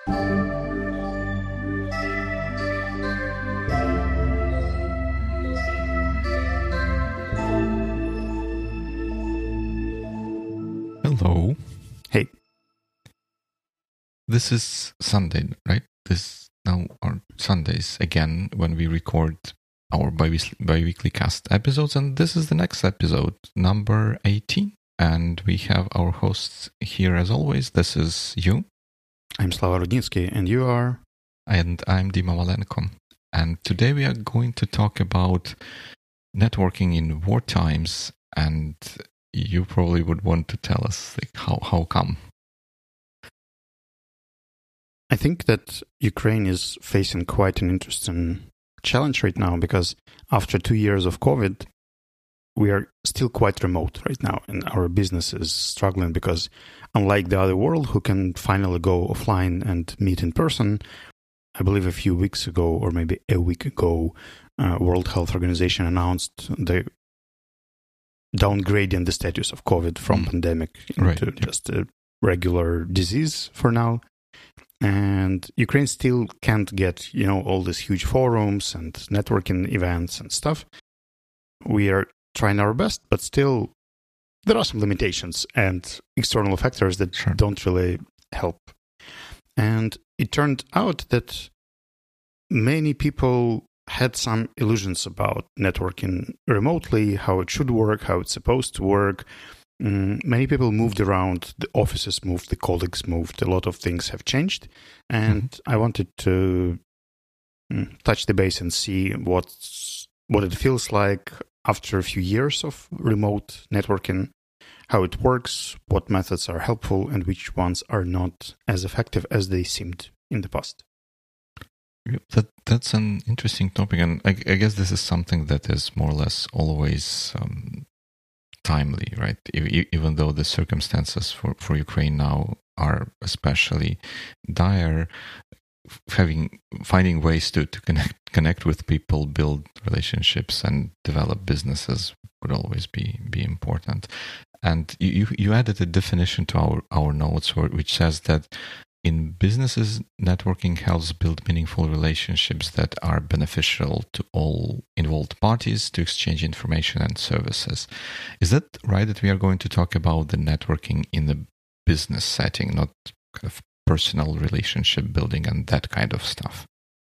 Hello. Hey. This is Sunday, right? This now are Sundays again when we record our bi-weekly cast episodes, and this is the next episode, number 18. And we have our hosts here as always. This is you. I'm Slava Rudnitsky, and you are? And I'm Dima Malenko. And today we are going to talk about networking in war times, and you probably would want to tell us how come. I think that Ukraine is facing quite an interesting challenge right now because after 2 years of COVID, we are still quite remote right now, and our business is struggling because unlike the other world who can finally go offline and meet in person, I believe a few weeks ago or maybe a week ago, World Health Organization announced the downgrading the status of COVID from pandemic into just a regular disease for now. And Ukraine still can't get, all these huge forums and networking events and stuff. We are trying our best, but still there are some limitations and external factors that don't really help. And it turned out that many people had some illusions about networking remotely, how it should work, how it's supposed to work. Many people moved around, the offices moved, the colleagues moved, a lot of things have changed. And I wanted to touch the base and see what it feels like after a few years of remote networking, how it works, what methods are helpful, and which ones are not as effective as they seemed in the past. That's an interesting topic, and I guess this is something that is more or less always timely, right? Even though the circumstances for Ukraine now are especially dire, finding ways to connect with people, build relationships, and develop businesses would always be important. And you added a definition to our notes, which says that in businesses, networking helps build meaningful relationships that are beneficial to all involved parties to exchange information and services. Is that right, that we are going to talk about the networking in the business setting, not kind of personal relationship building and that kind of stuff?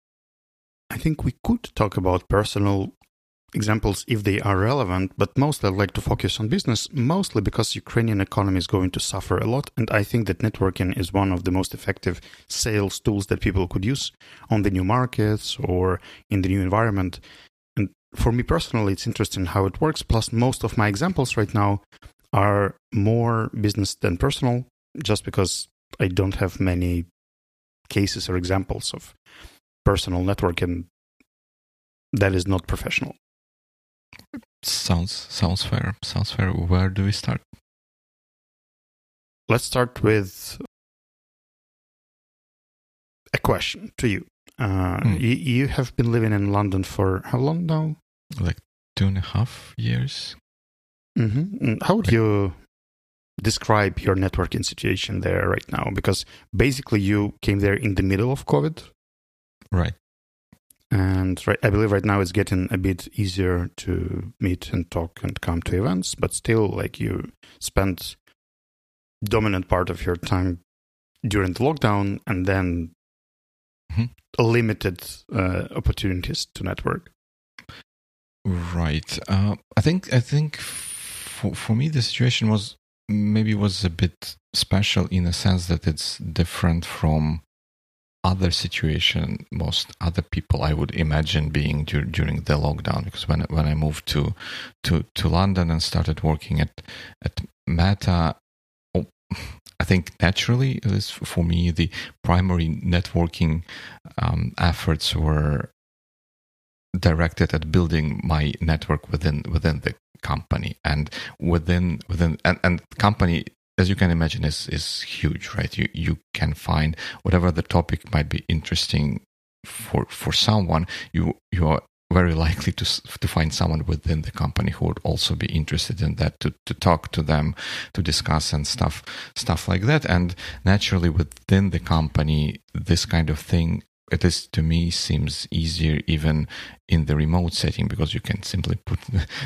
I think we could talk about personal examples if they are relevant, but mostly I'd like to focus on business, mostly because Ukrainian economy is going to suffer a lot, and I think that networking is one of the most effective sales tools that people could use on the new markets or in the new environment. And for me personally, it's interesting how it works, plus most of my examples right now are more business than personal, just because I don't have many cases or examples of personal networking that is not professional. Sounds fair. Where do we start? Let's start with a question to you. You have been living in London for how long now? Like 2.5 years. Mm-hmm. How would you describe your networking situation there right now? Because basically you came there in the middle of COVID. Right. And I believe right now it's getting a bit easier to meet and talk and come to events, but still, like, you spent dominant part of your time during the lockdown and then limited opportunities to network. Right. I think for me the situation was a bit special in a sense that it's different from other situation most other people I would imagine being during the lockdown, because when I moved to London and started working at Meta, I think naturally, at least for me, the primary networking efforts were directed at building my network within the company, and within and company, as you can imagine, is huge, right? You can find whatever the topic might be interesting for someone. You are very likely to find someone within the company who would also be interested in that, to talk to them, to discuss and stuff like that. And naturally within the company, this kind of thing, at least to me, seems easier even in the remote setting, because you can simply put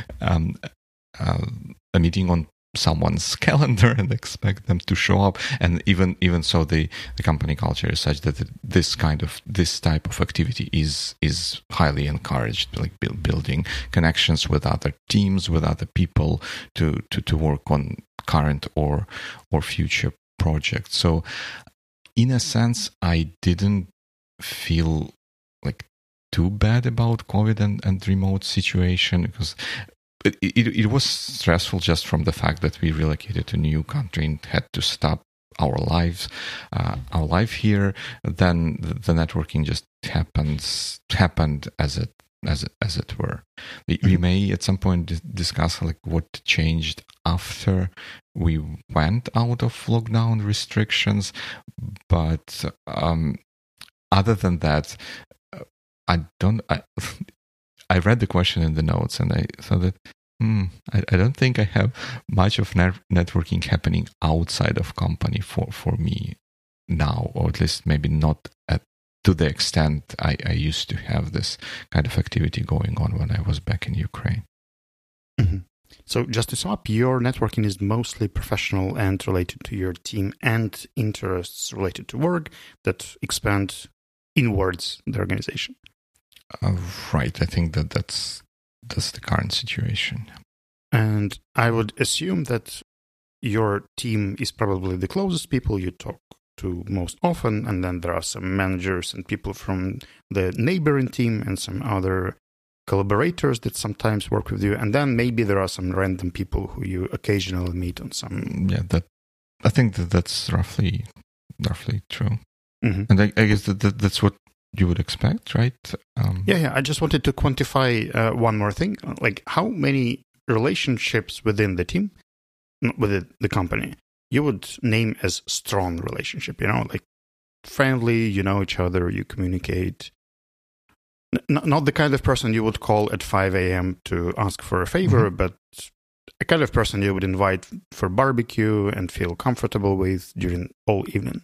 a meeting on someone's calendar and expect them to show up. And even so, the company culture is such that this type of activity is highly encouraged, like building connections with other teams, with other people to work on current or future projects. So in a sense, I didn't feel like too bad about COVID and remote situation, because it was stressful just from the fact that we relocated to a new country and had to stop our life here. Then the networking just happened as it were. We may at some point discuss like what changed after we went out of lockdown restrictions, but other than that, I read the question in the notes and I thought that I don't think I have much of networking happening outside of company for me now, or at least maybe not to the extent I used to have this kind of activity going on when I was back in Ukraine. Mm-hmm. So just to sum up, your networking is mostly professional and related to your team and interests related to work that expand inwards the organization. Right. I think that's the current situation. And I would assume that your team is probably the closest people you talk to most often, and then there are some managers and people from the neighboring team and some other collaborators that sometimes work with you, and then maybe there are some random people who you occasionally meet on some... Yeah, I think that's roughly true. Mm-hmm. And I guess that's what you would expect, right? Yeah. I just wanted to quantify one more thing. Like, how many relationships within the team, within the company, you would name as strong relationship? Like friendly, you know each other, you communicate. Not the kind of person you would call at 5 a.m. to ask for a favor, mm-hmm. but a kind of person you would invite for barbecue and feel comfortable with during all evening.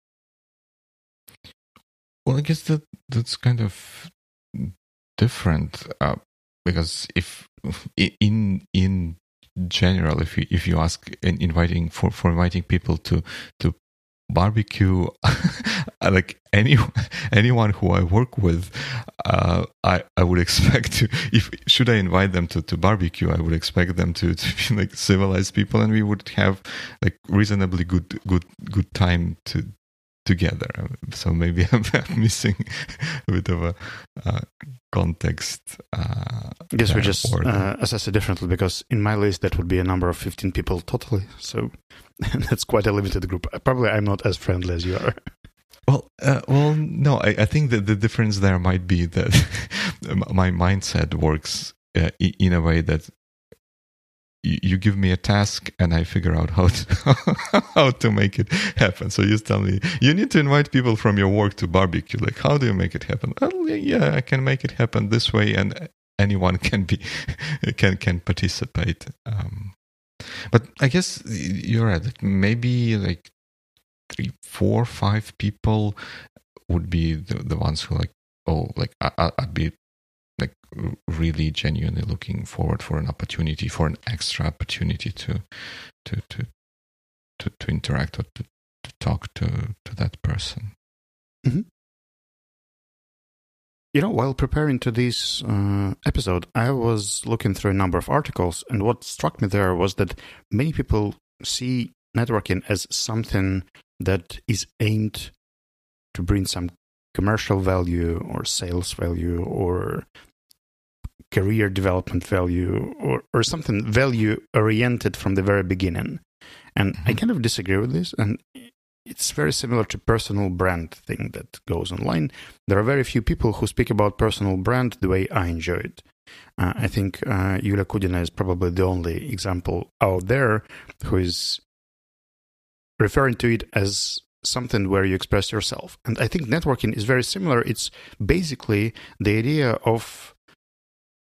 Well, I guess that's kind of different because if in general, if you ask inviting people to barbecue, like anyone who I work with, I would expect to, should I invite them to barbecue, I would expect them to be like civilized people, and we would have like reasonably good time together. So maybe I'm missing a bit of a context. I guess we just assess it differently, because in my list that would be a number of 15 people totally. So that's quite a limited group. Probably I'm not as friendly as you are. Well, no. I think that the difference there might be that my mindset works in a way that you give me a task and I figure out how to make it happen. So you tell me you need to invite people from your work to barbecue. Like, how do you make it happen? Well, yeah, I can make it happen this way, and anyone can participate. But I guess you're right. Maybe like 3, 4, 5 people would be the ones who I'd be like really genuinely looking forward for an extra opportunity to interact or to talk to that person. Mm-hmm. While preparing to this episode, I was looking through a number of articles, and what struck me there was that many people see networking as something that is aimed to bring some commercial value or sales value or career development value or something value oriented from the very beginning. And I kind of disagree with this. And it's very similar to personal brand thing that goes online. There are very few people who speak about personal brand the way I enjoy it. I think Yulia Kudina is probably the only example out there who is referring to it as something where you express yourself. And I think networking is very similar. It's basically the idea of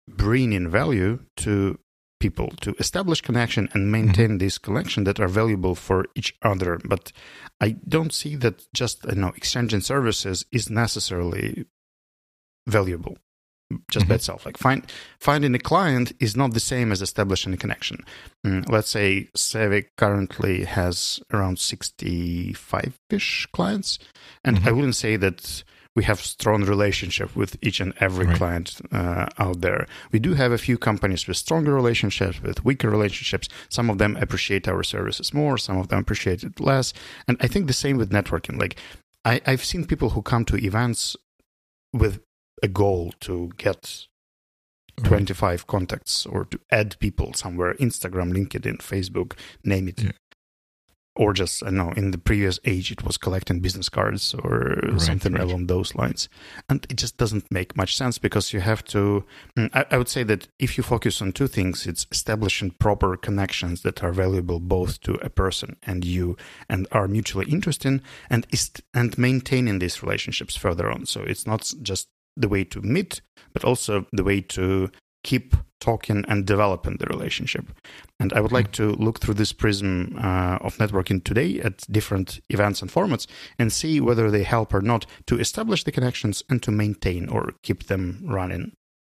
bring in value to people, to establish connection and maintain this connection that are valuable for each other. But I don't see that just exchanging services is necessarily valuable just by itself. Like finding a client is not the same as establishing a connection. Let's say Savvy currently has around 65-ish clients, and I wouldn't say that we have strong relationship with each and every client out there. We do have a few companies with stronger relationships, with weaker relationships. Some of them appreciate our services more, some of them appreciate it less. And I think the same with networking. Like I've seen people who come to events with a goal to get 25 contacts or to add people somewhere, Instagram, LinkedIn, Facebook, name it. Yeah. Or just, I don't know, in the previous age, it was collecting business cards or something along those lines. And it just doesn't make much sense because you have to, I would say that if you focus on two things, it's establishing proper connections that are valuable both to a person and you and are mutually interesting, and maintaining these relationships further on. So it's not just the way to meet, but also the way to keep talking and developing the relationship. And I would like to look through this prism of networking today at different events and formats and see whether they help or not to establish the connections and to maintain or keep them running.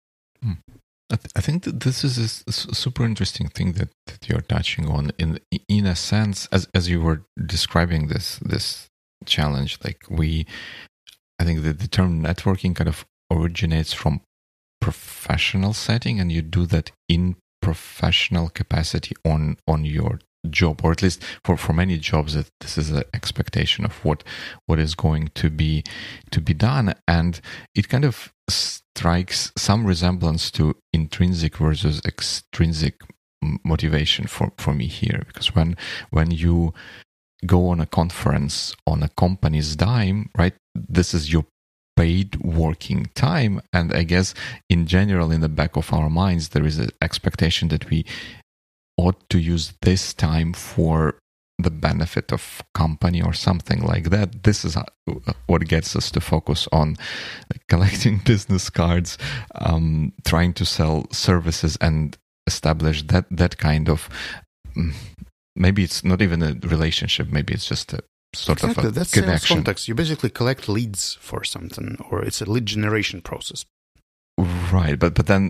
I think that this is a super interesting thing that you're touching on. In a sense, as you were describing this challenge, I think that the term networking kind of originates from professional setting, and you do that in professional capacity on your job, or at least for many jobs that this is an expectation of what is going to be done, and it kind of strikes some resemblance to intrinsic versus extrinsic motivation for me here, because when you go on a conference on a company's dime, right, this is your paid working time. And I guess in general, in the back of our minds, there is an expectation that we ought to use this time for the benefit of company or something like that. This is what gets us to focus on collecting business cards, trying to sell services and establish that kind of, maybe it's not even a relationship, maybe it's just a sort of a that's connection. Sales contacts. You basically collect leads for something, or it's a lead generation process. Right, but then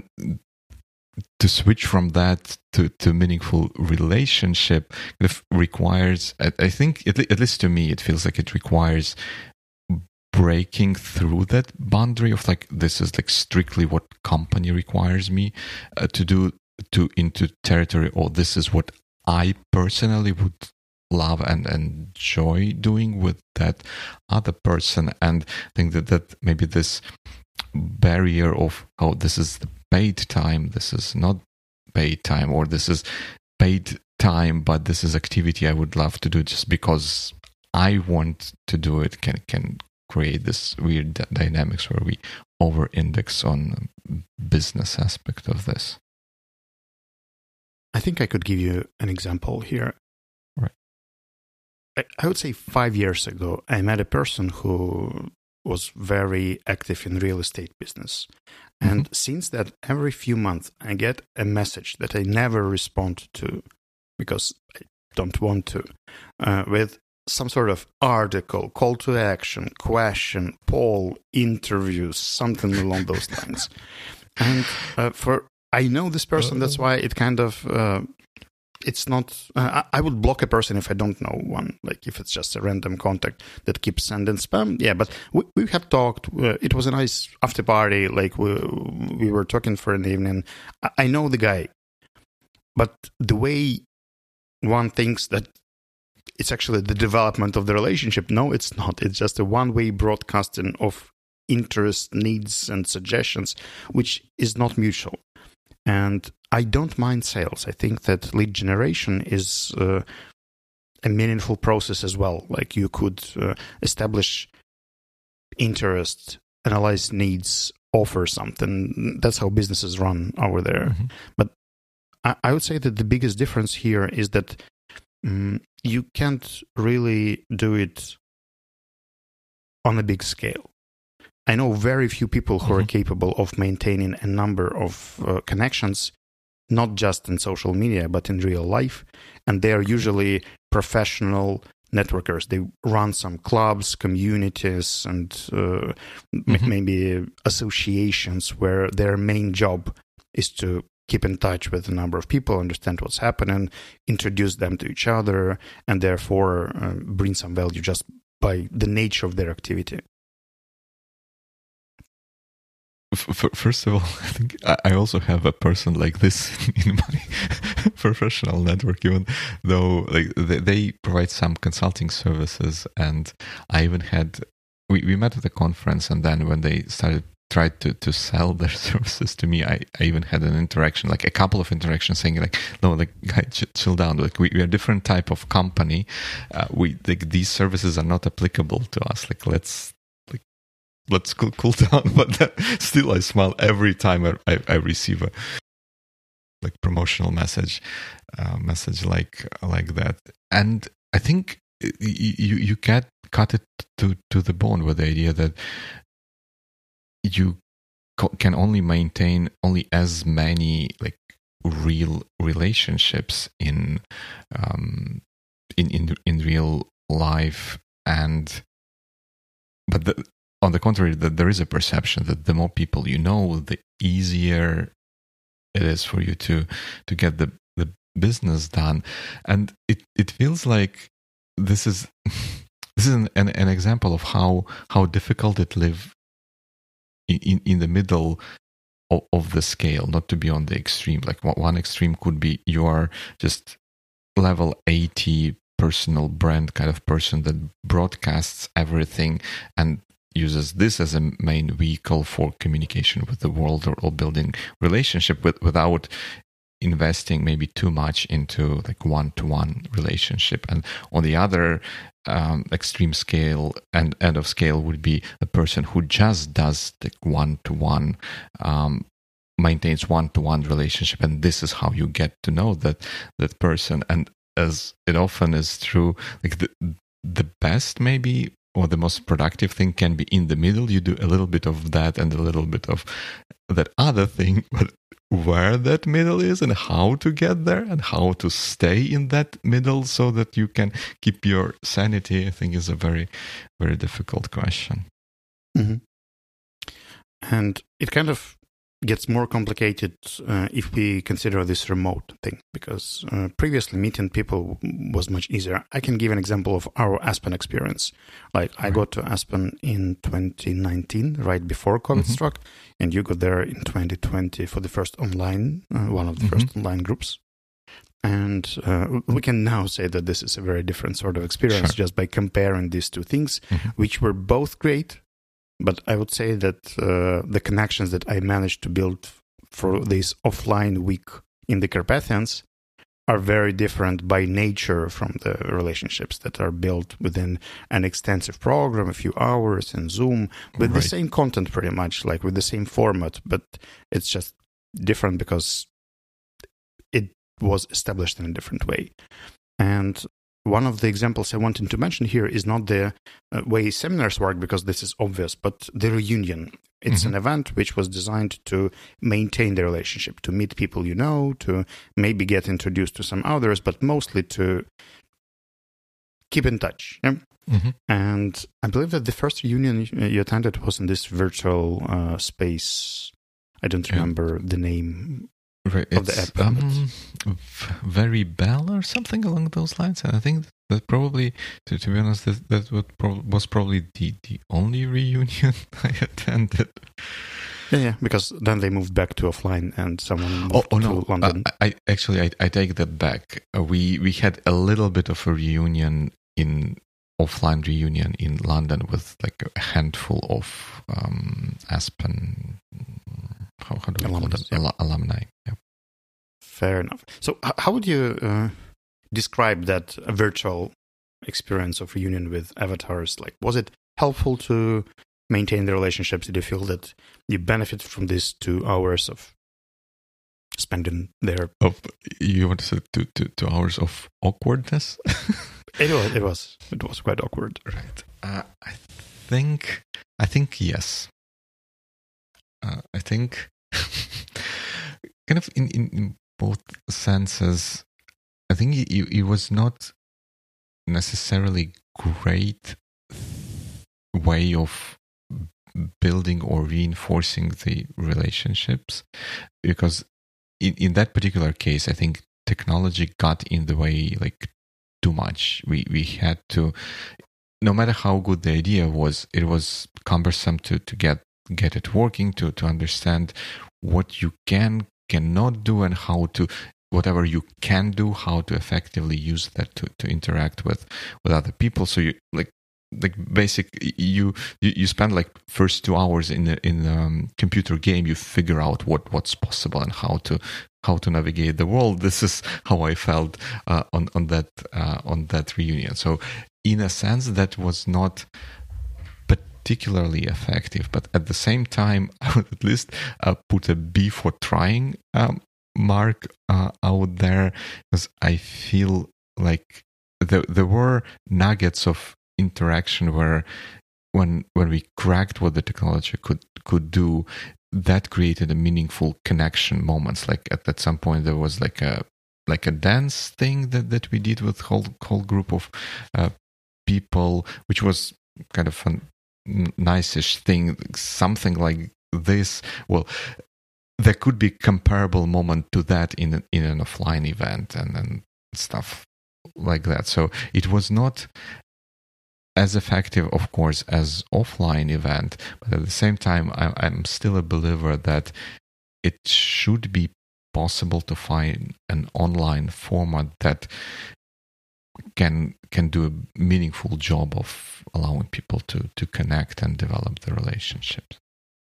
to switch from that to meaningful relationship requires, I think, at least to me, it feels like it requires breaking through that boundary of this is strictly what company requires me to do, into territory, or this is what I personally would love and enjoy doing with that other person. And I think that maybe this barrier of, oh, this is the paid time, this is not paid time, or this is paid time but this is activity I would love to do just because I want to do it, can create this weird dynamics where we over-index on business aspect of this. I think I could give you an example here. Right. I would say 5 years ago, I met a person who was very active in real estate business. And since that, every few months, I get a message that I never respond to because I don't want to, with some sort of article, call to action, question, poll, interview, something along those lines. And I know this person, that's why it kind of... it's not... I would block a person if I don't know one, like if it's just a random contact that keeps sending spam. Yeah, but we have talked. It was a nice after party. Like we were talking for an evening. I know the guy. But the way one thinks that it's actually the development of the relationship, no, it's not. It's just a one-way broadcasting of interest, needs, and suggestions, which is not mutual. And I don't mind sales. I think that lead generation is a meaningful process as well. Like you could establish interest, analyze needs, offer something. That's how businesses run over there. But I would say that the biggest difference here is that you can't really do it on a big scale. I know very few people who are capable of maintaining a number of connections, not just in social media, but in real life. And they are usually professional networkers. They run some clubs, communities, and maybe associations where their main job is to keep in touch with a number of people, understand what's happening, introduce them to each other, and therefore bring some value just by the nature of their activity. First of all, I think I also have a person like this in my professional network, even though like they provide some consulting services. And I even had, we met at a conference, and then when they tried to sell their services to me, I even had an interaction, like a couple of interactions saying like, no, like, guy, chill down. Like we are a different type of company. These services are not applicable to us. Like, let's cool down. But still, I smile every time I receive a like promotional message like that. And I think you can't cut it to the bone with the idea that you can only maintain only as many like real relationships in real life, but on the contrary, that there is a perception that the more people you know, the easier it is for you to get the business done. And it feels like this is an example of how difficult it live in the middle of the scale, not to be on the extreme. Like one extreme could be you are just level 80 personal brand kind of person that broadcasts everything and uses this as a main vehicle for communication with the world or building relationship without investing maybe too much into like one-to-one relationship. And on the other extreme scale and end of scale would be the person who just does the one-to-one, maintains one-to-one relationship, and this is how you get to know that person. And as it often is true, like the best maybe or the most productive thing can be in the middle. You do a little bit of that and a little bit of that other thing, but where that middle is and how to get there and how to stay in that middle so that you can keep your sanity, I think is a very, very difficult question. Mm-hmm. And it kind of gets more complicated if we consider this remote thing, because previously meeting people was much easier. I can give an example of our Aspen experience. Like I got to Aspen in 2019, right before COVID struck, and you got there in 2020 for the first online, one of the first online groups. And we can now say that this is a very different sort of experience just by comparing these two things, which were both great. But I would say that the connections that I managed to build for this offline week in the Carpathians are very different by nature from the relationships that are built within an extensive program, a few hours in Zoom, with the same content pretty much, like with the same format, but it's just different because it was established in a different way. And one of the examples I wanted to mention here is not the way seminars work, because this is obvious, but the reunion. It's an event which was designed to maintain the relationship, to meet people you know, to maybe get introduced to some others, but mostly to keep in touch. Yeah? And I believe that the first reunion you attended was in this virtual space. I don't remember the name. Of the app. Very Bell or something along those lines. And I think that probably, to be honest, that was probably the only reunion I attended. Yeah, because then they moved back to offline and someone moved to London. I take that back. We had a little bit of a reunion offline reunion in London with like a handful of Aspen. How do we call them? Alumni. Yeah. Fair enough. So how would you describe that virtual experience of reunion with avatars? Like, was it helpful to maintain the relationships? Did you feel that you benefited from these 2 hours of spending there? You want to say 2 hours of awkwardness? It was quite awkward. Right. I think yes. I think kind of in both senses, I think it was not necessarily great way of building or reinforcing the relationships, because in that particular case, I think technology got in the way like too much. We had to, no matter how good the idea was, it was cumbersome to get it working, to understand what you cannot do, and how to, whatever you can do, how to effectively use that to interact with other people. So you like basic, you spend like first 2 hours in the computer game, you figure out what's possible and how to navigate the world. This is how I felt on that reunion. So in a sense, that was not particularly effective, but at the same time, I would at least put a B for trying mark out there, because I feel like there were nuggets of interaction where when we cracked what the technology could do, that created a meaningful connection moments. Like at some point there was like a dance thing that we did with whole group of people, which was kind of a nice-ish thing, something like this. Well, there could be comparable moment to that in an offline event and stuff like that. So it was not as effective, of course, as offline event, but at the same time, I'm still a believer that it should be possible to find an online format that can do a meaningful job of allowing people to connect and develop the relationships.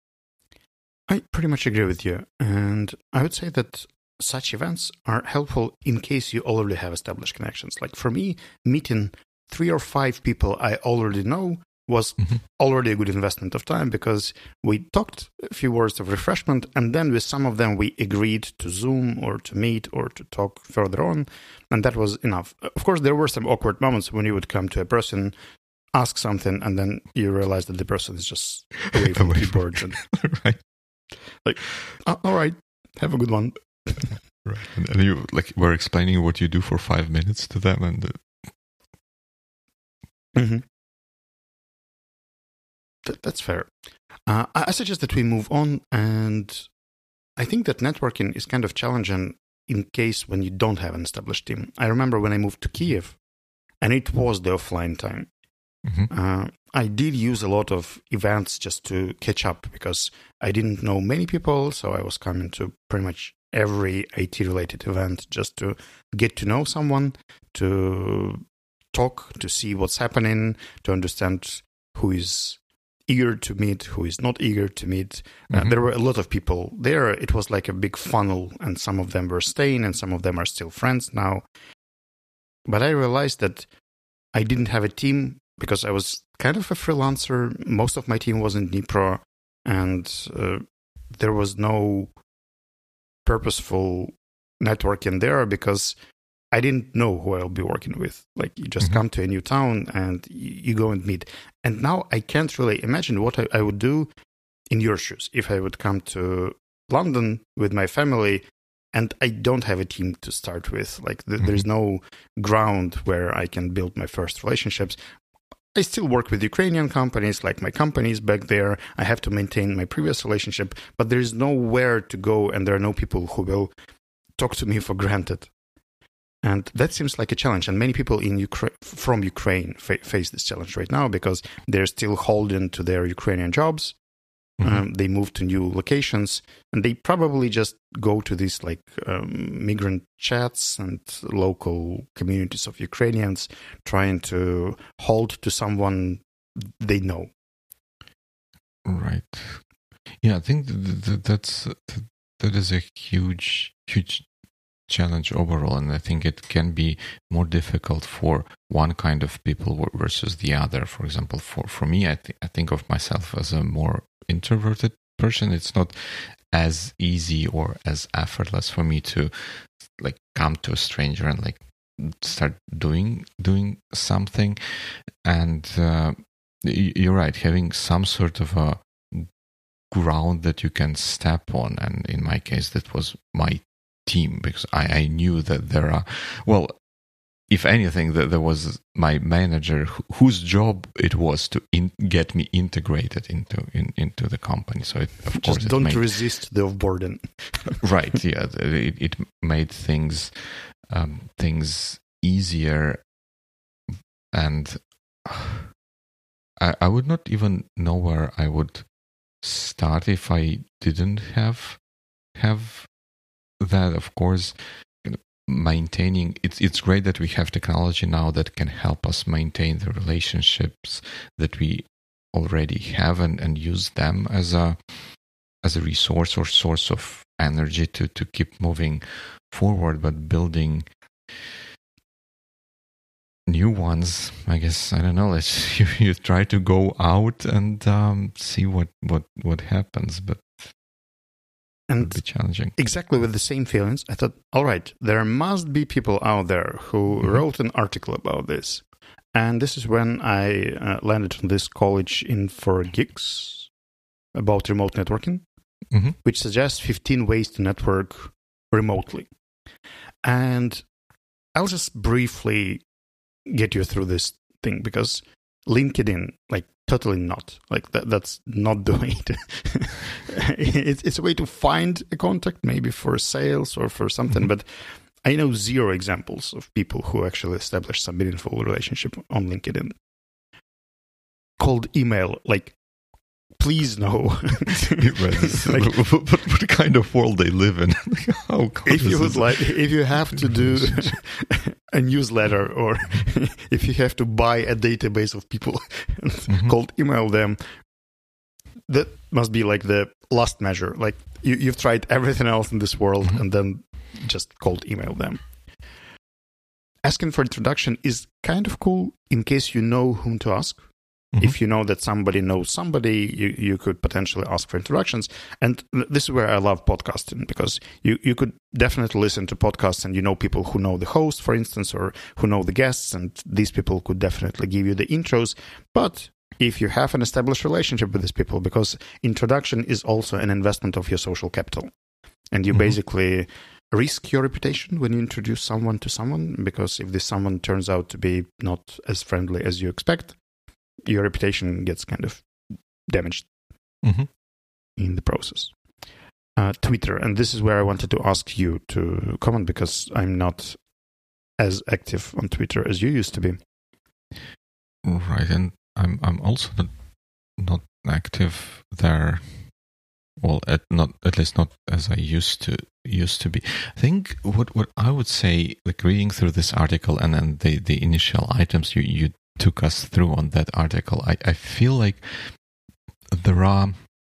I pretty much agree with you, and I would say that such events are helpful in case you already have established connections. Like for me, meeting 3 or 5 people I already know was already a good investment of time, because we talked a few words of refreshment, and then with some of them we agreed to Zoom or to meet or to talk further on, and that was enough. Of course, there were some awkward moments when you would come to a person, ask something, and then you realize that the person is just away from the keyboard. And, right. Like, all right, have a good one. Right. And you like were explaining what you do for 5 minutes to them, and That's fair. I suggest that we move on, and I think that networking is kind of challenging in case when you don't have an established team. I remember when I moved to Kiev, and it was the offline time. I did use a lot of events just to catch up, because I didn't know many people, so I was coming to pretty much every IT-related event just to get to know someone, to talk, to see what's happening, to understand who is eager to meet, who is not eager to meet. There were a lot of people there. It was like a big funnel, and some of them were staying, and some of them are still friends now. But I realized that I didn't have a team, because I was kind of a freelancer. Most of my team was in Dnipro, and there was no purposeful networking there, because I didn't know who I'll be working with. Like, you just come to a new town and you go and meet. And now I can't really imagine what I would do in your shoes if I would come to London with my family and I don't have a team to start with. Like, there's no ground where I can build my first relationships. I still work with Ukrainian companies, like my companies back there. I have to maintain my previous relationship, but there's nowhere to go, and there are no people who will talk to me for granted. And that seems like a challenge. And many people from Ukraine face this challenge right now, because they're still holding to their Ukrainian jobs. They move to new locations, and they probably just go to these like migrant chats and local communities of Ukrainians, trying to hold to someone they know. Right. Yeah, I think that is a huge challenge overall, and I think it can be more difficult for one kind of people versus the other. For example, for me, I think of myself as a more introverted person. It's not as easy or as effortless for me to like come to a stranger and like start doing something. And you're right, having some sort of a ground that you can step on. And in my case, that was my team, because I knew that there are, well, if anything, that there was my manager whose job it was to get me integrated into the company. So of course, don't resist the offboarding. Right? Yeah, it made things easier, and I would not even know where I would start if I didn't have that. Of course, maintaining it's great that we have technology now that can help us maintain the relationships that we already have and use them as a resource or source of energy to keep moving forward. But building new ones, I guess, I don't know, you try to go out and see what happens, but and be challenging. Exactly with the same feelings, I thought, all right, there must be people out there who wrote an article about this. And this is when I landed on this college In4Geeks about remote networking, which suggests 15 ways to network remotely. And I'll just briefly get you through this thing, because LinkedIn, like, totally not. Like, that's not the way to... it's a way to find a contact, maybe for sales or for something, but I know zero examples of people who actually established some meaningful relationship on LinkedIn. Cold email, like, please no. Like, what kind of world they live in? If you have to do a newsletter, or if you have to buy a database of people and cold email them, that must be like the last measure. Like, you've tried everything else in this world and then just cold email them. Asking for introduction is kind of cool in case you know whom to ask. If you know that somebody knows somebody, you could potentially ask for introductions. And this is where I love podcasting, because you could definitely listen to podcasts and you know people who know the host, for instance, or who know the guests, and these people could definitely give you the intros. But if you have an established relationship with these people, because introduction is also an investment of your social capital, and you basically risk your reputation when you introduce someone to someone, because if this someone turns out to be not as friendly as you expect, your reputation gets kind of damaged in the process. Twitter, and this is where I wanted to ask you to comment, because I'm not as active on Twitter as you used to be. Right, and I'm also not active there. Well, at least not as I used to be. I think what I would say, like, reading through this article and then the initial items you took us through on that article, I feel like there are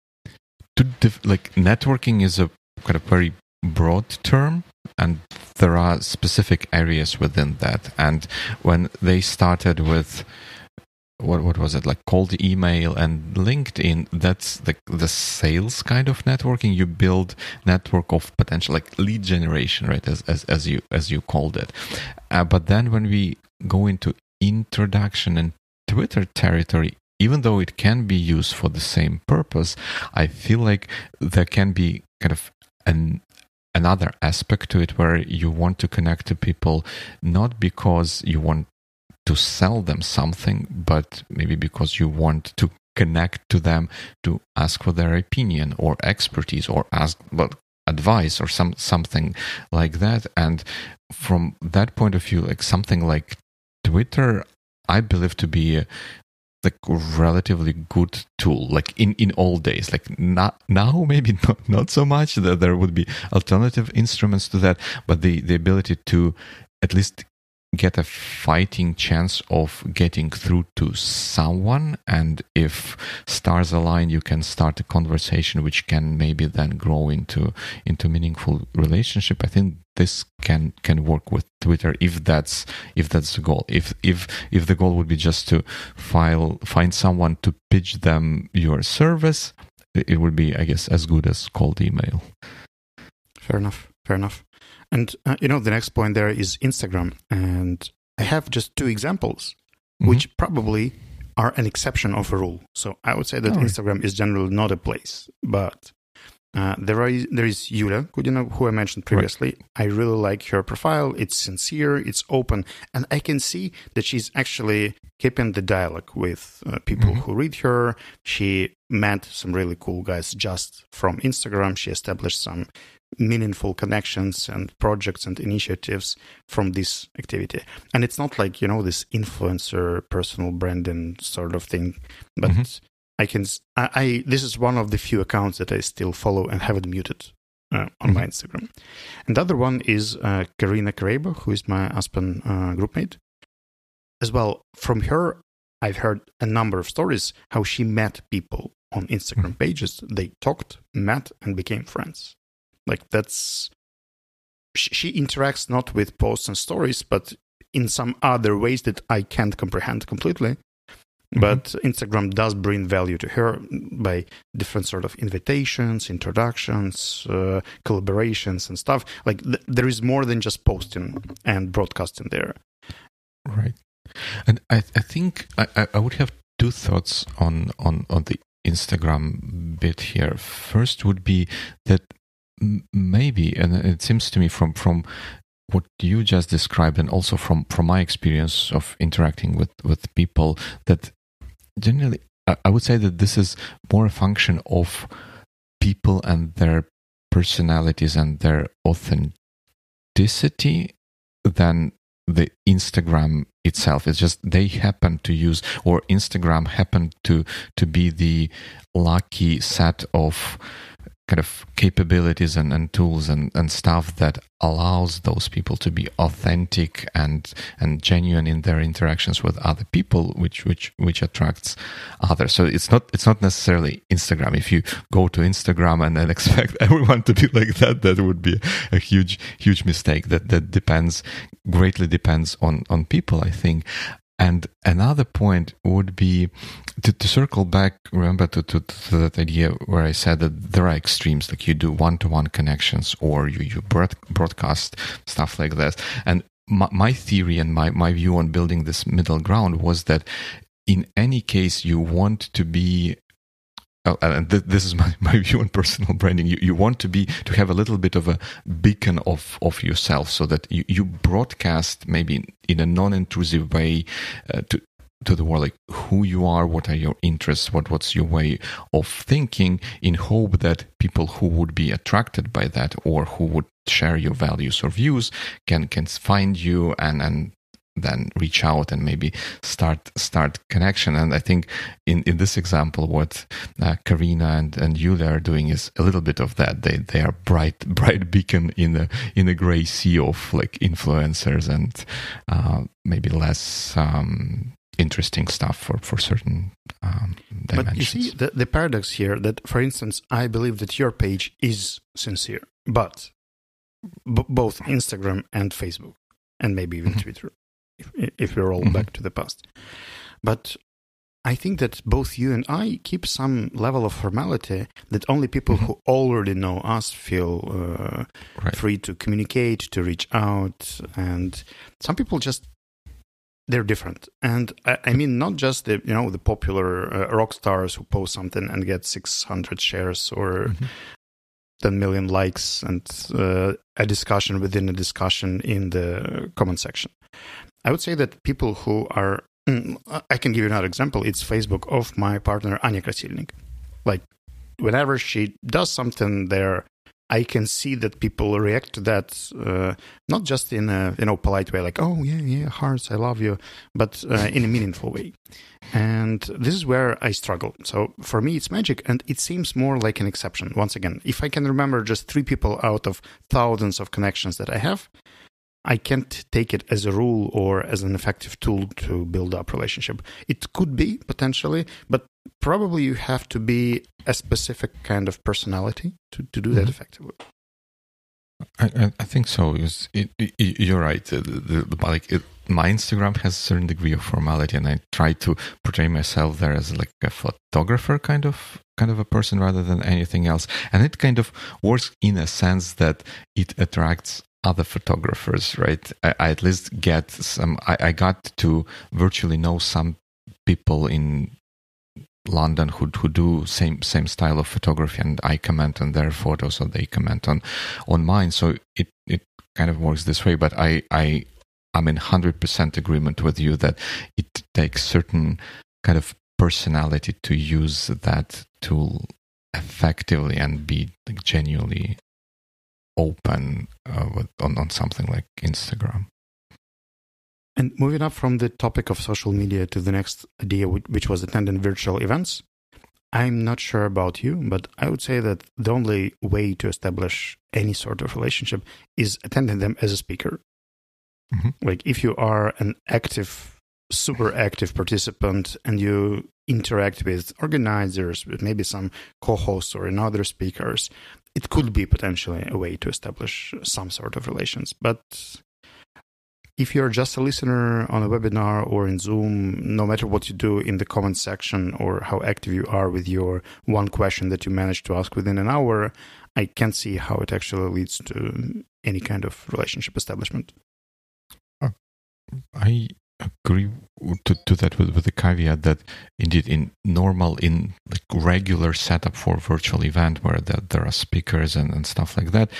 networking is a kind of very broad term, and there are specific areas within that. And when they started with what was it, like cold email and LinkedIn, that's the sales kind of networking. You build network of potential, like lead generation, right, as you called it. But then when we go into introduction and Twitter territory, even though it can be used for the same purpose, I feel like there can be kind of another aspect to it, where you want to connect to people not because you want to sell them something, but maybe because you want to connect to them, to ask for their opinion or expertise, or ask about advice or something like that. And from that point of view, like something like Twitter, I believe to be a relatively good tool, like in old days. Like now maybe not so much, that there would be alternative instruments to that, but the ability to at least get a fighting chance of getting through to someone, and if stars align, you can start a conversation which can maybe then grow into meaningful relationship. I think this can work with Twitter if that's the goal. If the goal would be just to find someone to pitch them your service, it would be, I guess, as good as cold email. Fair enough. And, the next point there is Instagram. And I have just two examples, which probably are an exception of a rule. So I would say that Instagram is generally not a place, but there is Yulia Kudina, who I mentioned previously. Right. I really like her profile. It's sincere, it's open, and I can see that she's actually keeping the dialogue with people who read her. She met some really cool guys just from Instagram. She established some meaningful connections and projects and initiatives from this activity. And it's not like, this influencer personal branding sort of thing, but this is one of the few accounts that I still follow and haven't muted on my Instagram. And the other one is Karina Kareba, who is my Aspen groupmate. As well, from her, I've heard a number of stories how she met people on Instagram pages. They talked, met, and became friends. Like she interacts not with posts and stories, but in some other ways that I can't comprehend completely. But Instagram does bring value to her by different sort of invitations, introductions, collaborations and stuff. Like there is more than just posting and broadcasting there. Right. And I think I would have two thoughts on the Instagram bit here. First would be that maybe, and it seems to me from what you just described, and also from my experience of interacting with people, that generally I would say that this is more a function of people and their personalities and their authenticity than the Instagram itself. It's just they happen to use, or Instagram happened to be the lucky set of kind of capabilities and tools and stuff that allows those people to be authentic and genuine in their interactions with other people, which attracts others. So it's not necessarily Instagram. If you go to Instagram and then expect everyone to be like that would be a huge mistake. That greatly depends on people, I think. And another point would be to circle back, remember, to that idea where I said that there are extremes, like you do one-to-one connections or you broadcast, stuff like that. And my theory and my view on building this middle ground was that in any case, you want to be, and this is my view on personal branding, you want to have a little bit of a beacon of yourself, so that you broadcast maybe in a non-intrusive way to the world, like who you are, what are your interests, what's your way of thinking, in hope that people who would be attracted by that or who would share your values or views can find you and then reach out and maybe start connection. And I think in this example, what Karina and Yulia are doing is a little bit of that. They are bright beacon in a gray sea of like influencers and maybe less interesting stuff for certain dimensions. But you see the paradox here, that, for instance, I believe that your page is sincere, but both Instagram and Facebook, and maybe even Twitter, if we roll back to the past. But I think that both you and I keep some level of formality that only people who already know us feel free to communicate, to reach out. And some people just, they're different. And I mean, not just the popular rock stars who post something and get 600 shares or 10 million likes and a discussion within a discussion in the comment section. I would say that people who are, I can give you another example. It's Facebook of my partner, Anya Krasilnik. Like, whenever she does something there, I can see that people react to that, not just in a polite way, like, oh, yeah, hearts, I love you, but in a meaningful way. And this is where I struggle. So for me, it's magic, and it seems more like an exception. Once again, if I can remember just 3 people out of thousands of connections that I have, I can't take it as a rule or as an effective tool to build up relationship. It could be, potentially, but probably you have to be a specific kind of personality to do that effectively. I think so. You're right. My Instagram has a certain degree of formality, and I try to portray myself there as like a photographer kind of a person rather than anything else. And it kind of works in a sense that it attracts other photographers, right? I at least get some. I got to virtually know some people in London who do same style of photography, and I comment on their photos or they comment on mine. So it kind of works this way. But I'm in 100% agreement with you that it takes certain kind of personality to use that tool effectively and be like genuinely open on something like Instagram. And moving up from the topic of social media to the next idea, which was attending virtual events, I'm not sure about you, but I would say that the only way to establish any sort of relationship is attending them as a speaker. Mm-hmm. Like if you are an active, super active participant and you interact with organizers, with maybe some co-hosts or other speakers, it could be potentially a way to establish some sort of relations. But if you're just a listener on a webinar or in Zoom, no matter what you do in the comment section or how active you are with your one question that you managed to ask within an hour, I can't see how it actually leads to any kind of relationship establishment. I agree to that with the caveat that indeed in like regular setup for virtual event where there are speakers and stuff like that,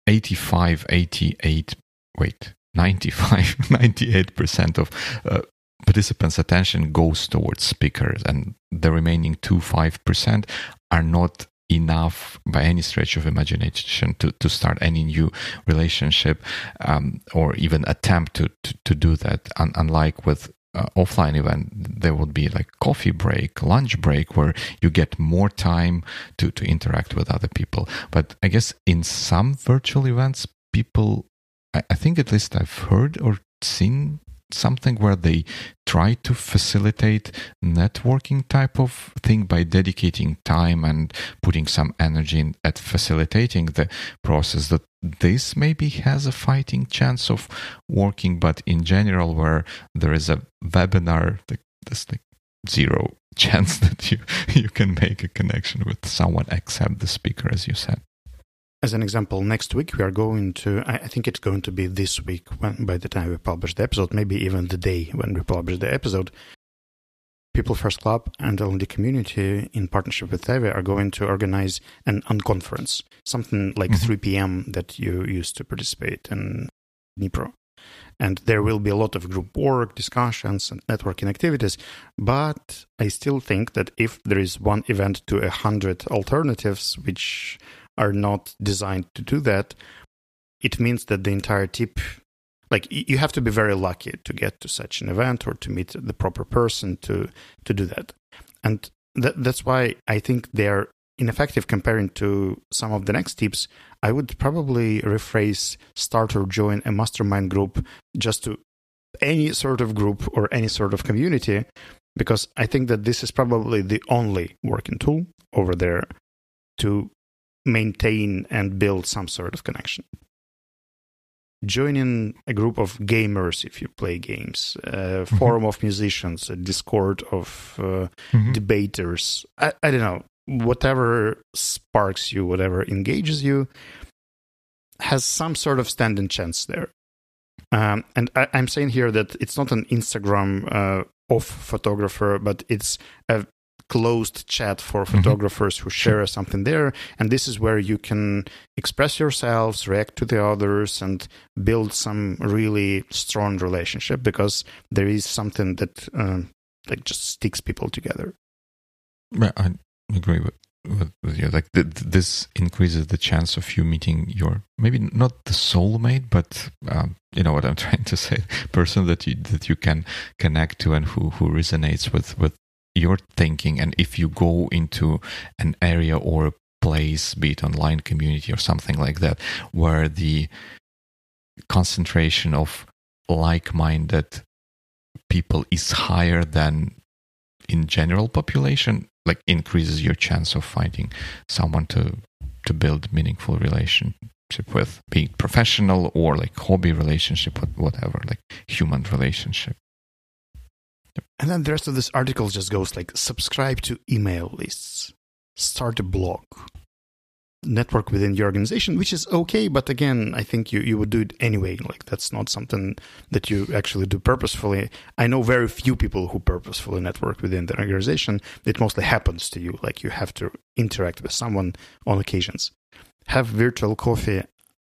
98% of participants' attention goes towards speakers, and the remaining 5% are not enough by any stretch of imagination to start any new relationship or even attempt to do that. Unlike with offline event, there would be like coffee break, lunch break, where you get more time to interact with other people. But I guess in some virtual events, people, I think at least I've heard or seen something where they try to facilitate networking type of thing by dedicating time and putting some energy in at facilitating the process. That this maybe has a fighting chance of working, but in general, where there is a webinar, there's like zero chance that you can make a connection with someone except the speaker, as you said. As an example, next week we are going to, I think it's going to be this week by the time we publish the episode, maybe even the day when we publish the episode, People First Club and L&D Community in partnership with Teve are going to organize an unconference, something like 3 p.m. that you used to participate in Dnipro. And there will be a lot of group work, discussions, and networking activities. But I still think that if there is one event to 100 alternatives, which are not designed to do that, it means that the entire tip, like you have to be very lucky to get to such an event or to meet the proper person to do that. And that's why I think they're ineffective comparing to some of the next tips. I would probably rephrase start or join a mastermind group just to any sort of group or any sort of community, because I think that this is probably the only working tool over there to maintain and build some sort of connection. Joining a group of gamers if you play games, a forum of musicians, a Discord of debaters, I don't know, whatever sparks you, whatever engages you, has some sort of standing chance there. And I'm saying here that it's not an Instagram off photographer, but it's a closed chat for photographers who share something there. And this is where you can express yourselves, react to the others, and build some really strong relationship, because there is something that like just sticks people together. I agree with you. Like this increases the chance of you meeting your, maybe not the soulmate, but you know what I'm trying to say, person that you can connect to and who resonates with your thinking. And if you go into an area or a place, be it online community or something like that, where the concentration of like-minded people is higher than in general population, like increases your chance of finding someone to build meaningful relationship with, be it professional or like hobby relationship, whatever, like human relationship. And then the rest of this article just goes like, subscribe to email lists, start a blog, network within your organization, which is okay. But again, I think you would do it anyway. Like that's not something that you actually do purposefully. I know very few people who purposefully network within the organization. It mostly happens to you. Like you have to interact with someone on occasions. Have virtual coffee.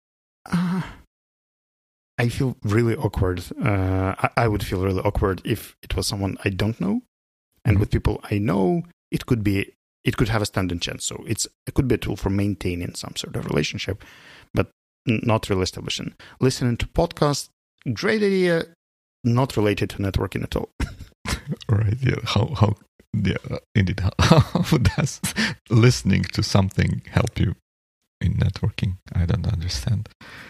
I feel really awkward. I would feel really awkward if it was someone I don't know. And with people I know, it could have a standing chance. So it could be a tool for maintaining some sort of relationship, but not really establishing. Listening to podcasts, great idea, not related to networking at all. Right. Yeah. How indeed. How does listening to something help you in networking? I don't understand.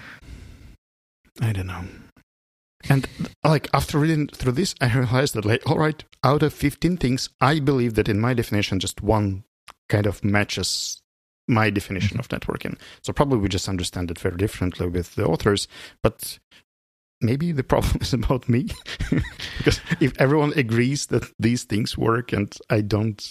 I don't know. And like after reading through this, I realized that like, all right, out of 15 things, I believe that in my definition, just one kind of matches my definition of networking. So probably we just understand it very differently with the authors, but maybe the problem is about me. Because if everyone agrees that these things work and I don't...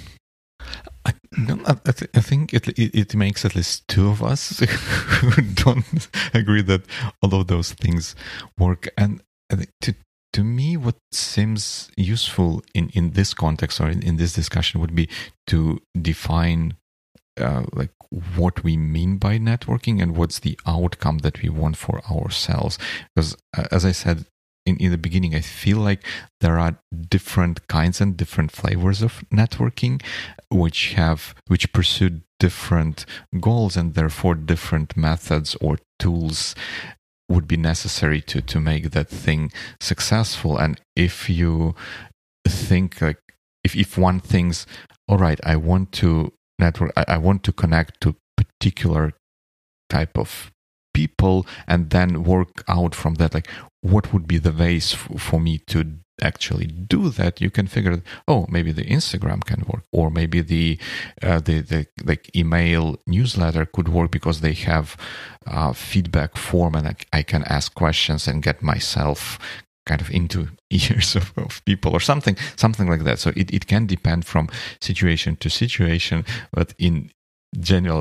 I think it makes at least two of us who don't agree that all of those things work. And to me, what seems useful in this context or in this discussion would be to define like what we mean by networking and what's the outcome that we want for ourselves. Because as I said in the beginning, I feel like there are different kinds and different flavors of networking, which pursue different goals, and therefore different methods or tools would be necessary to make that thing successful. And if you think like if one thinks, all right, I want to network, I want to connect to particular type of people and then work out from that, like what would be the ways for me to actually do that, you can figure, maybe the Instagram can work, or maybe the like email newsletter could work because they have feedback form and I can ask questions and get myself kind of into ears of people or something like that. So it can depend from situation to situation, but in general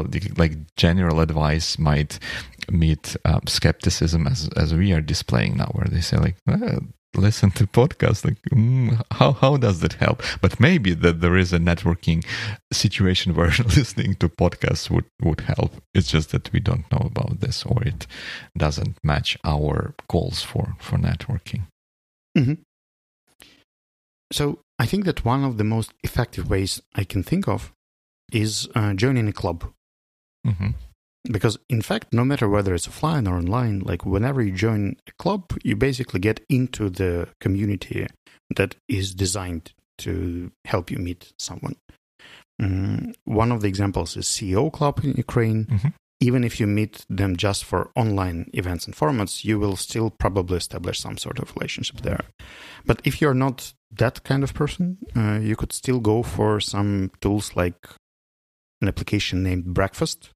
advice might meet skepticism as we are displaying now, where they say like, listen to podcasts, like how does that help? But maybe that there is a networking situation where listening to podcasts would help. It's just that we don't know about this, or it doesn't match our goals for networking. Mm-hmm. So I think that one of the most effective ways I can think of is joining a club. Mm-hmm. Because in fact, no matter whether it's offline or online, like whenever you join a club, you basically get into the community that is designed to help you meet someone. One of the examples is CEO Club in Ukraine. Mm-hmm. Even if you meet them just for online events and formats, you will still probably establish some sort of relationship there. But if you're not that kind of person, you could still go for some tools like an application named Breakfast.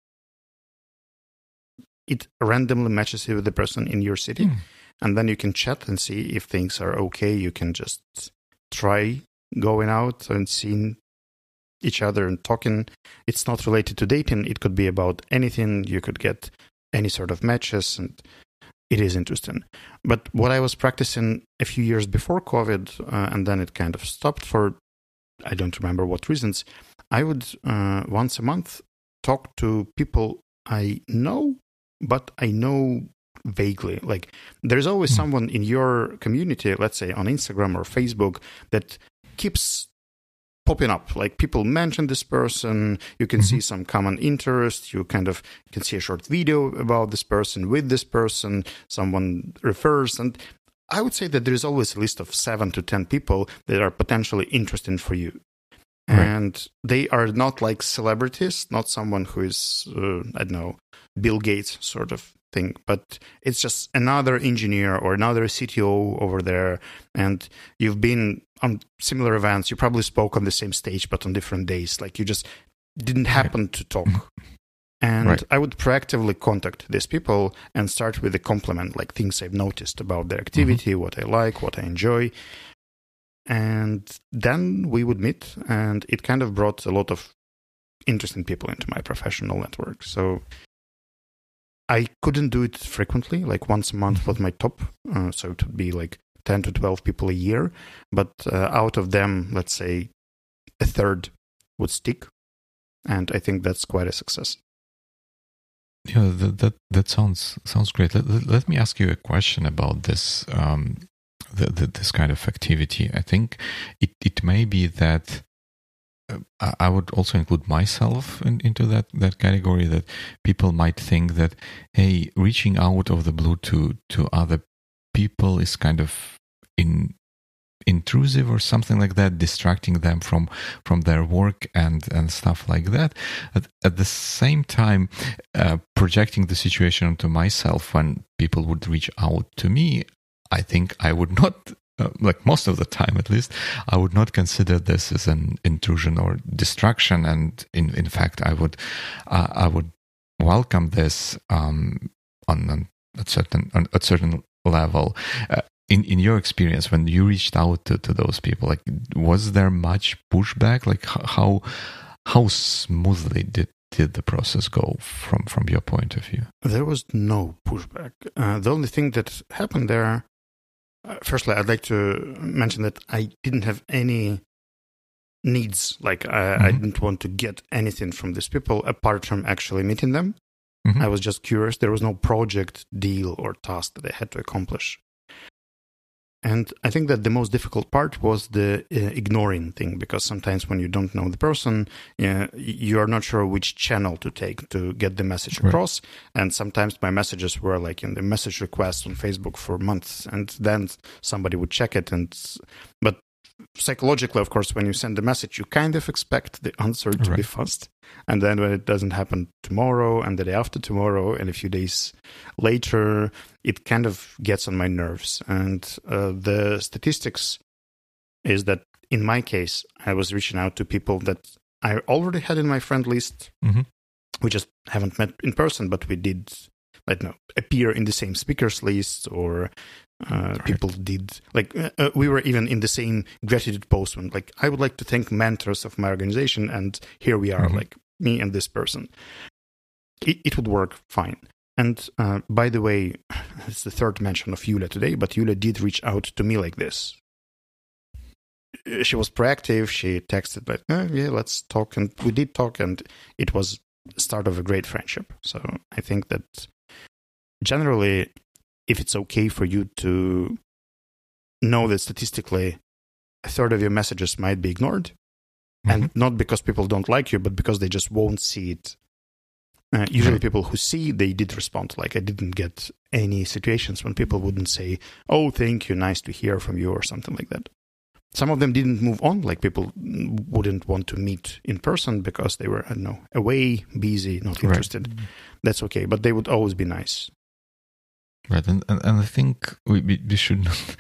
It randomly matches you with the person in your city, and then you can chat and see if things are okay. You can just try going out and seeing each other and talking. It's not related to dating. It could be about anything. You could get any sort of matches, and it is interesting. But what I was practicing a few years before COVID, and then it kind of stopped for, I don't remember what reasons, I would once a month talk to people I know, but I know vaguely. Like there's always someone in your community, let's say on Instagram or Facebook, that keeps popping up. Like people mention this person, you can see some common interest, you can see a short video about this person with this person, someone refers. And I would say that there's always a list of 7 to 10 people that are potentially interesting for you. Right. And they are not like celebrities, not someone who is, I don't know, Bill Gates sort of thing, but it's just another engineer or another CTO over there, and you've been on similar events. You probably spoke on the same stage, but on different days. Like you just didn't happen to talk. And I would proactively contact these people and start with a compliment, like things I've noticed about their activity, what I like, what I enjoy. And then we would meet, and it kind of brought a lot of interesting people into my professional network. So I couldn't do it frequently, like once a month was my top. So it would be like 10 to 12 people a year. But out of them, let's say a third would stick. And I think that's quite a success. Yeah, that sounds great. Let me ask you a question about this this kind of activity. I think it may be that I would also include myself into that category, that people might think that, hey, reaching out of the blue to other people is kind of intrusive or something like that, distracting them from their work and stuff like that. At the same time, projecting the situation onto myself, when people would reach out to me, I think I would not, like most of the time at least, I would not consider this as an intrusion or distraction. And in fact, I would welcome this on a certain level. In your experience, when you reached out to those people, like, was there much pushback? Like, how smoothly did the process go from your point of view? There was no pushback. The only thing that happened there, firstly, I'd like to mention that I didn't have any needs. Like, I didn't want to get anything from these people apart from actually meeting them. I was just curious. There was no project, deal, or task that I had to accomplish. And I think that the most difficult part was the ignoring thing, because sometimes when you don't know the person, you are not sure which channel to take to get the message across. Right. And sometimes my messages were like in the message request on Facebook for months, and then somebody would check it. But psychologically, of course, when you send a message, you kind of expect the answer to be fast. And then when it doesn't happen tomorrow and the day after tomorrow and a few days later, it kind of gets on my nerves. And the statistics is that in my case, I was reaching out to people that I already had in my friend list. We just haven't met in person, but we did, appear in the same speakers list, or people did, we were even in the same gratitude post when, I would like to thank mentors of my organization, and here we are, like me and this person. It would work fine. And by the way, it's the third mention of Yulia today, but Yulia did reach out to me like this. She was proactive. She texted let's talk. And we did talk, and it was the start of a great friendship. So I think that generally, if it's okay for you to know that statistically a third of your messages might be ignored, and not because people don't like you, but because they just won't see it. Usually people who see, they did respond. I didn't get any situations when people wouldn't say, oh, thank you, nice to hear from you, or something like that. Some of them didn't move on, people wouldn't want to meet in person because they were, away, busy, not interested. Right. That's okay, but they would always be nice. Right, and I think we should not,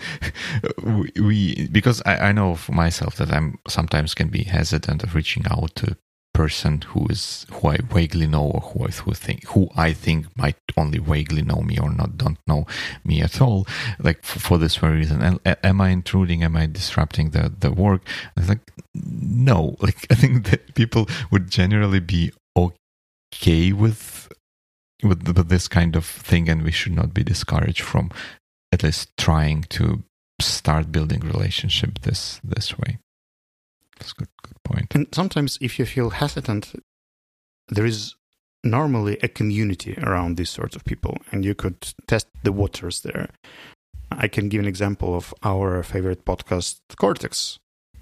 because I know for myself that I'm sometimes can be hesitant of reaching out to a person who I vaguely know, or who I think might only vaguely know me or don't know me at all, for this very reason. And am I intruding? Am I disrupting the work? And it's no. I think that people would generally be okay with this kind of thing, and we should not be discouraged from at least trying to start building relationship this way. That's a good point. And sometimes if you feel hesitant, there is normally a community around these sorts of people, and you could test the waters there. I can give an example of our favorite podcast, Cortex.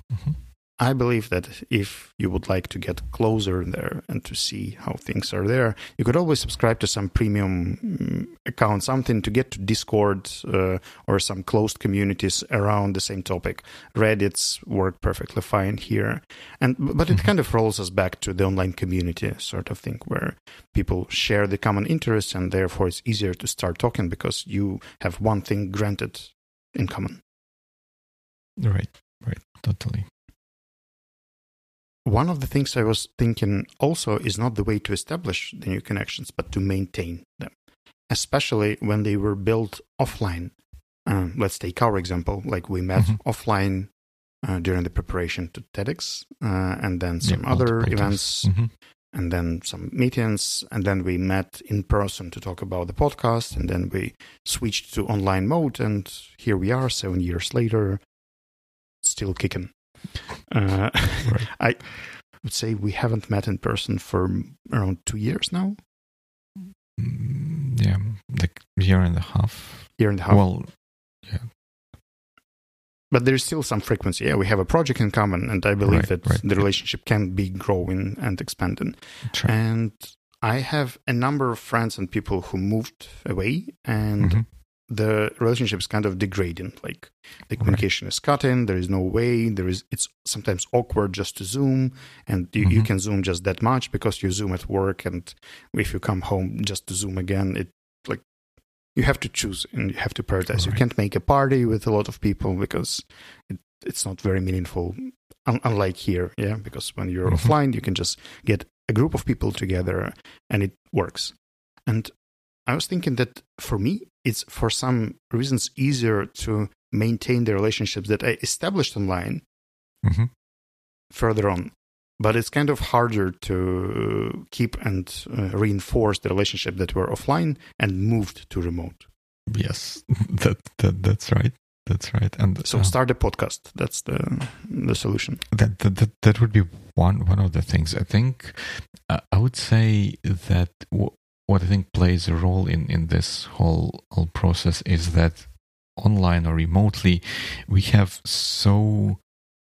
I believe that if you would like to get closer there and to see how things are there, you could always subscribe to some premium account, something to get to Discord or some closed communities around the same topic. Reddits work perfectly fine here. But it kind of rolls us back to the online community sort of thing, where people share the common interests, and therefore it's easier to start talking because you have one thing granted in common. Right, totally. One of the things I was thinking also is not the way to establish the new connections, but to maintain them, especially when they were built offline. Let's take our example. We met offline during the preparation to TEDx, and then some other events, and then some meetings, and then we met in person to talk about the podcast, and then we switched to online mode, and here we are 7 years later, still kicking. Right. I would say we haven't met in person for around 2 years now. Yeah, like year and a half. Well, yeah. But there's still some frequency. Yeah, we have a project in common, and I believe that the relationship can be growing and expanding. True. And I have a number of friends and people who moved away, and the relationship is kind of degrading. Like the communication is cutting. There is no way. It's sometimes awkward just to Zoom, and you can Zoom just that much because you Zoom at work, and if you come home just to Zoom again, you have to choose and you have to prioritize. Right. You can't make a party with a lot of people because it's not very meaningful, unlike here, yeah? Because when you're offline, you can just get a group of people together and it works. And I was thinking that for me, it's for some reasons easier to maintain the relationships that I established online further on. But it's kind of harder to keep and reinforce the relationship that were offline and moved to remote. Yes, that's right. That's right. And so start a podcast. That's the solution. That would be one of the things. I think I would say that what I think plays a role in this whole process is that online or remotely we have so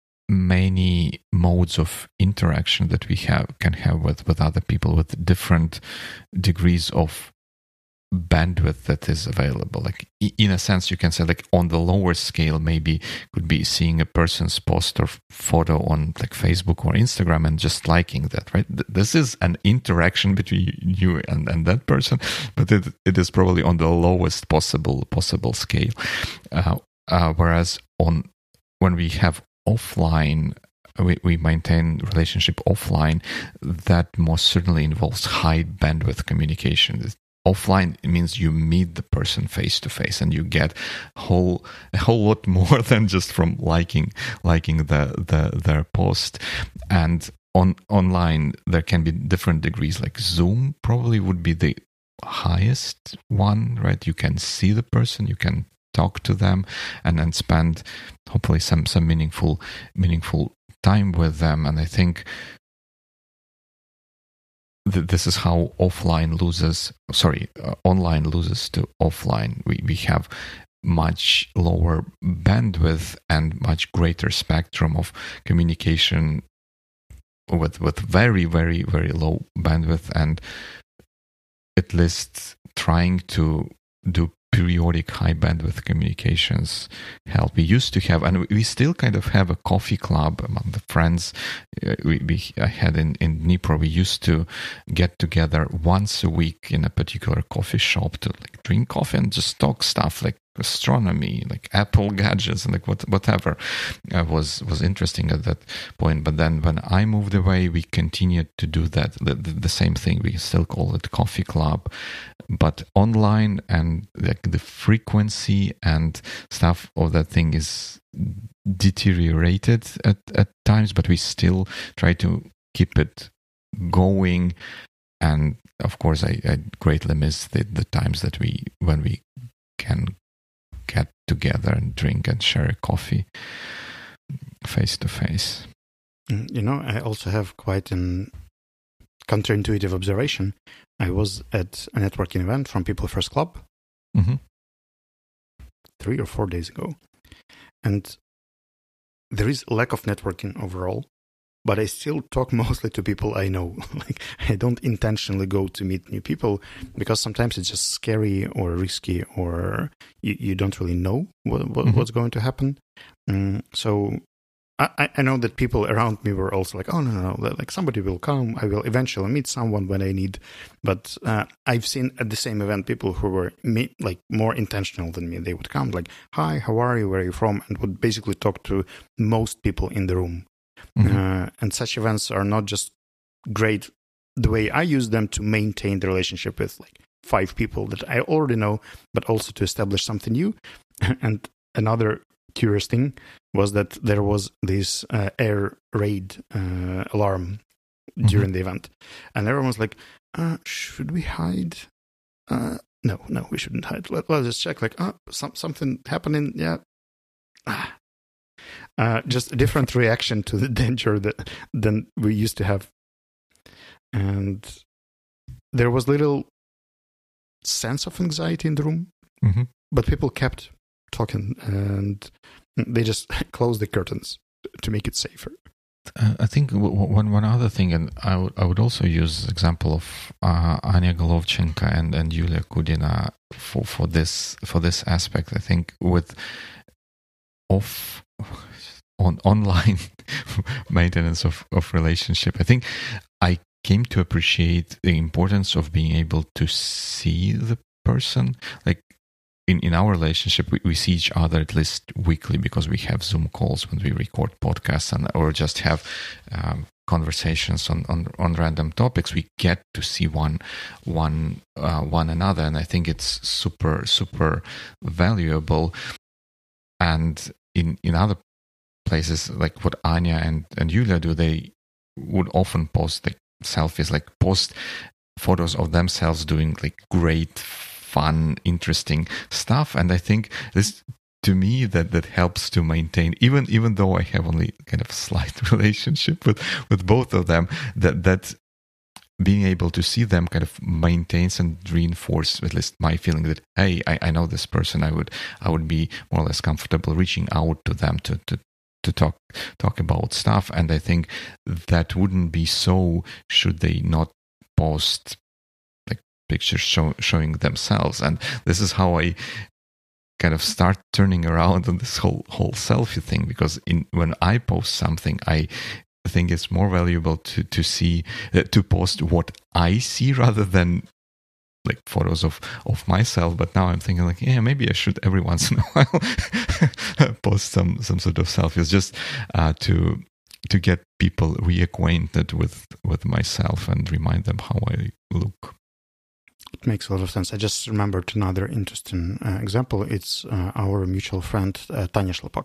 many modes of interaction that we can have with other people with different degrees of bandwidth that is available. Like in a sense, you can say like on the lower scale, maybe could be seeing a person's post or photo on like Facebook or Instagram and just liking that, right? This is an interaction between you and that person, but it is probably on the lowest possible scale. Whereas when we have offline, we maintain relationship offline, that most certainly involves high bandwidth communication. Offline, it means you meet the person face to face, and you get a whole lot more than just from liking their post. And online, there can be different degrees. Like Zoom probably would be the highest one, right? You can see the person, you can talk to them, and then spend hopefully some meaningful time with them. And I think this is how online loses to offline. We have much lower bandwidth and much greater spectrum of communication with very, very, very low bandwidth, and at least trying to do periodic high bandwidth communications help. We used to have, and we still kind of have, a coffee club among the friends we had in Dnipro. We used to get together once a week in a particular coffee shop to like drink coffee and just talk stuff like astronomy, like Apple gadgets, and like whatever was interesting at that point. But then when I moved away, we continued to do that, the same thing. We still call it coffee club, but online, and like the frequency and stuff of that thing is deteriorated at times, but we still try to keep it going. And of course, I greatly miss the times that when we can get together and drink and share a coffee face to face. I also have quite an counterintuitive observation. I was at a networking event from People First Club 3 or 4 days ago, and there is lack of networking overall, but I still talk mostly to people I know. Like, I don't intentionally go to meet new people because sometimes it's just scary or risky, or you don't really know what's going to happen. So I know that people around me were also like, oh, no, like somebody will come. I will eventually meet someone when I need. But I've seen at the same event people who were like more intentional than me. They would come like, hi, how are you? Where are you from? And would basically talk to most people in the room. And such events are not just great the way I use them to maintain the relationship with like 5 people that I already know, but also to establish something new. And another curious thing was that there was this air raid alarm during the event. And everyone was like, should we hide? No, we shouldn't hide. Let's just check. Like, something happening. Yeah. Just a different reaction to the danger than we used to have. And there was little sense of anxiety in the room, but people kept talking and they just closed the curtains to make it safer. I think one other thing, and I would also use the example of Anya Golovchenko and Yulia Kudina for this aspect. I think with online maintenance of relationship, I think I came to appreciate the importance of being able to see the person. Like in our relationship, we see each other at least weekly because we have Zoom calls when we record podcasts or just have conversations on random topics. We get to see one another, and I think it's super, super valuable. And in other places, like what Anya and Yulia do, they would often post like selfies, like post photos of themselves doing like great, fun, interesting stuff. And I think this, to me, that helps to maintain, even though I have only kind of slight relationship with both of them, that being able to see them kind of maintains and reinforce at least my feeling that, hey, I know this person. I would be more or less comfortable reaching out to them to talk about stuff. And I think that wouldn't be so should they not post like pictures showing themselves. And this is how I kind of start turning around on this whole selfie thing, because when I post something, I think it's more valuable to see to post what I see rather than like photos of myself. But now I'm thinking like, yeah, maybe I should every once in a while post some sort of selfies just to get people reacquainted with myself and remind them how I look. It makes a lot of sense. I just remembered another interesting example. It's our mutual friend Tanya Shlopak.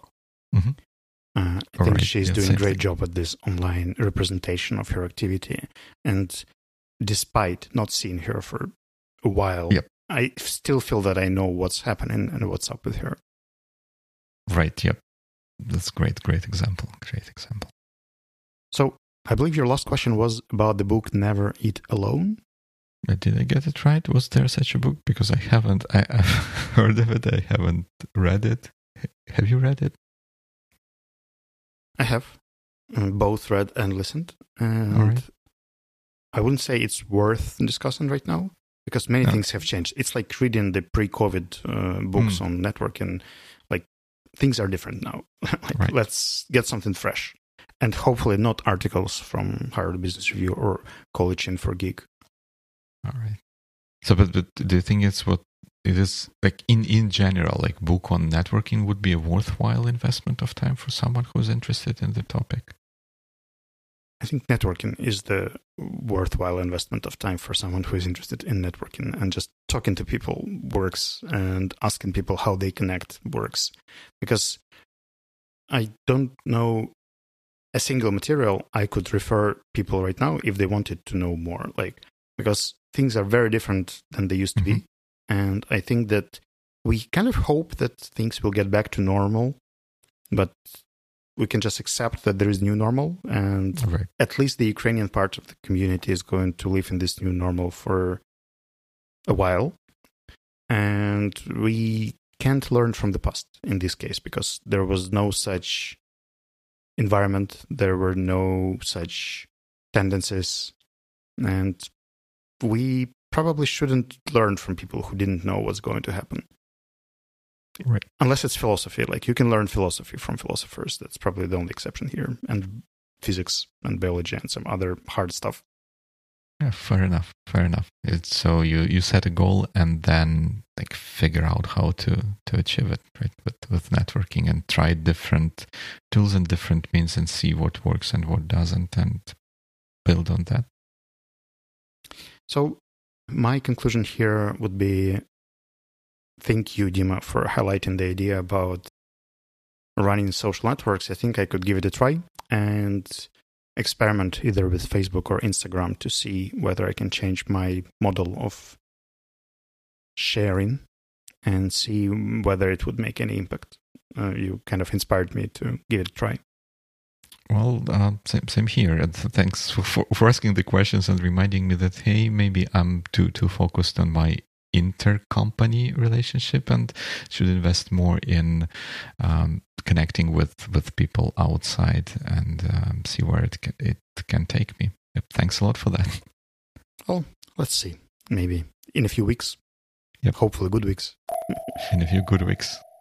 I think she's doing a great job at this online representation of her activity. And despite not seeing her for a while, I still feel that I know what's happening and what's up with her. Right, yep. That's great example. Great example. So I believe your last question was about the book Never Eat Alone. Did I get it right? Was there such a book? Because I've heard of it. I haven't read it. Have you read it? I have both read and listened. And all right. I wouldn't say it's worth discussing right now because many things have changed. It's like reading the pre-COVID books on networking. Like things are different now. Let's get something fresh. And hopefully not articles from Harvard Business Review or College Info Geek. All right. So, but do you think it's what it is like in general, like book on networking would be a worthwhile investment of time for someone who's interested in the topic? I think networking is the worthwhile investment of time for someone who is interested in networking, and just talking to people works and asking people how they connect works. Because I don't know a single material I could refer people right now if they wanted to know more, because things are very different than they used to be. And I think that we kind of hope that things will get back to normal, but we can just accept that there is new normal. And at least the Ukrainian part of the community is going to live in this new normal for a while. And we can't learn from the past in this case, because there was no such environment. There were no such tendencies. And we probably shouldn't learn from people who didn't know what's going to happen. Right. Unless it's philosophy. Like you can learn philosophy from philosophers. That's probably the only exception here. And physics and biology and some other hard stuff. Yeah, fair enough. It's so you set a goal and then like figure out how to achieve it, right? With networking, and try different tools and different means and see what works and what doesn't, and build on that. So my conclusion here would be, thank you, Dima, for highlighting the idea about running social networks, I think I could give it a try and experiment either with Facebook or Instagram to see whether I can change my model of sharing and see whether it would make any impact. You kind of inspired me to give it a try. Well, same here. And thanks for asking the questions and reminding me that, hey, maybe I'm too focused on my intercompany relationship and should invest more in connecting with people outside and see where it can take me. Yep, thanks a lot for that. Well, let's see. Maybe in a few weeks. Yep. Hopefully good weeks. In a few good weeks.